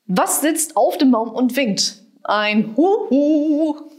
Was sitzt auf dem Baum und winkt? Ein Huhu.